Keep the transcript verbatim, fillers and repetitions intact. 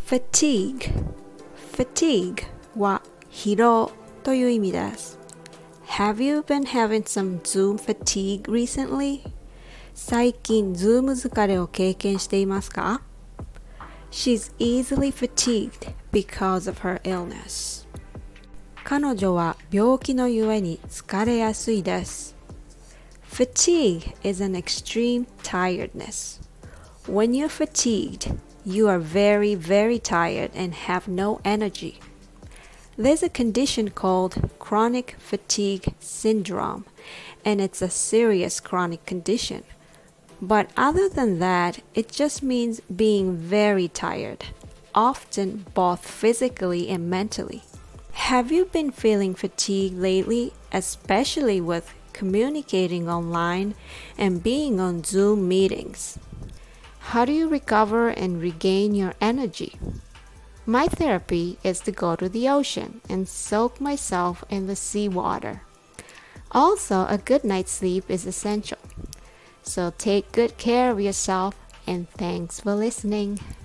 fatigue fatigue は疲労という意味です。Have you been having some Zoom fatigue recently? 最近 Zoom 疲れを経験していますか？ She's easily fatigued because of her illness. 彼女は病気のゆえに疲れやすいです。Fatigue is an extreme tiredness. When you're fatigued, you are very, very tired and have no energy. There's a condition called chronic fatigue syndrome, and it's a serious chronic condition. But other than that, it just means being very tired, often both physically and mentally. Have you been feeling fatigued lately, especially with communicating online and being on Zoom meetings? How do you recover and regain your energy? My therapy is to go to the ocean and soak myself in the seawater. Also, a good night's sleep is essential. So take good care of yourself and thanks for listening.